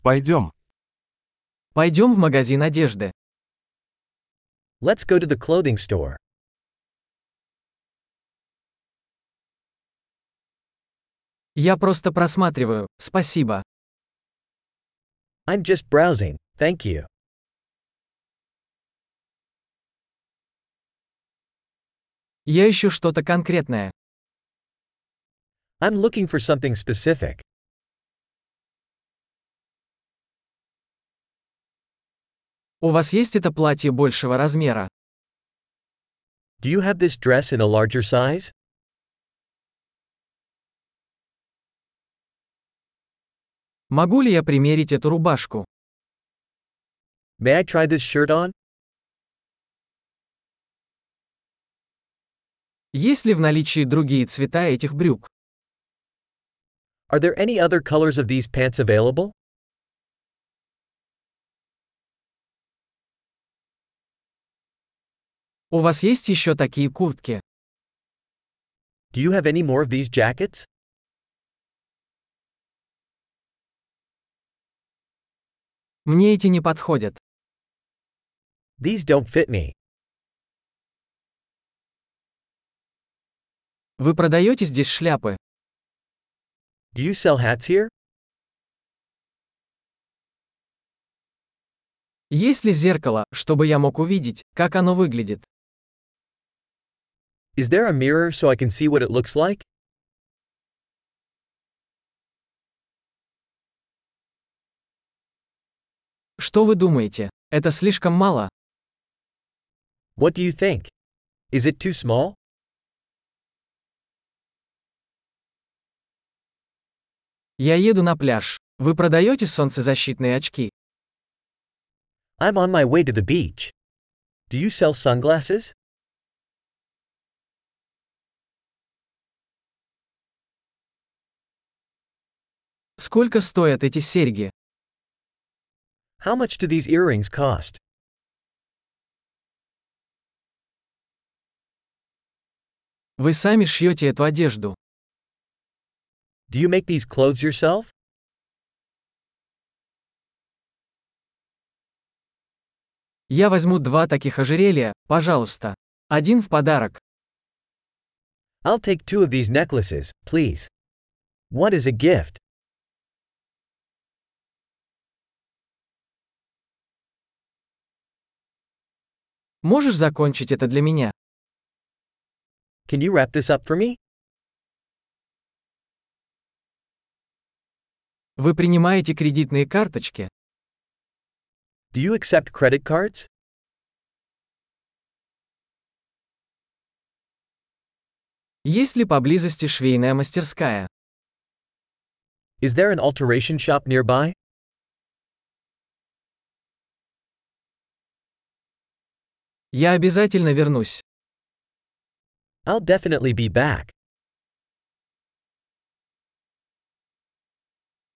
Пойдем. Пойдем в магазин одежды. Let's go to the clothing store. Я просто просматриваю, спасибо. I'm just browsing, thank you. Я ищу что-то конкретное. I'm looking for something specific. У вас есть это платье большего размера? Do you have this dress in a larger size? Могу ли я примерить эту рубашку? May I try this shirt on? Есть ли в наличии другие цвета этих брюк? Are there any other colors of these pants available? У вас есть еще такие куртки? Do you have any more of these jackets? Мне эти не подходят. These don't fit me. Вы продаете здесь шляпы? Do you sell hats here? Есть ли зеркало, чтобы я мог увидеть, как оно выглядит? Is there a mirror so I can see what it looks like? Что вы думаете? Это слишком мало? What do you think? Is it too small? Я еду на пляж. Вы продаете солнцезащитные очки? I'm on my way to the beach. Do you sell sunglasses? Сколько стоят эти серьги? How much do these earrings cost? Вы сами шьете эту одежду. Do you make these clothes yourself? Я возьму 2 таких ожерелья, пожалуйста. Один в подарок. I'll take 2 of these necklaces, please. What is a gift? Можешь закончить это для меня? Can you wrap this up for me? Вы принимаете кредитные карточки? Do you accept credit cards? Есть ли поблизости швейная мастерская? Is there an alteration shop nearby? Я обязательно вернусь. I'll definitely be back.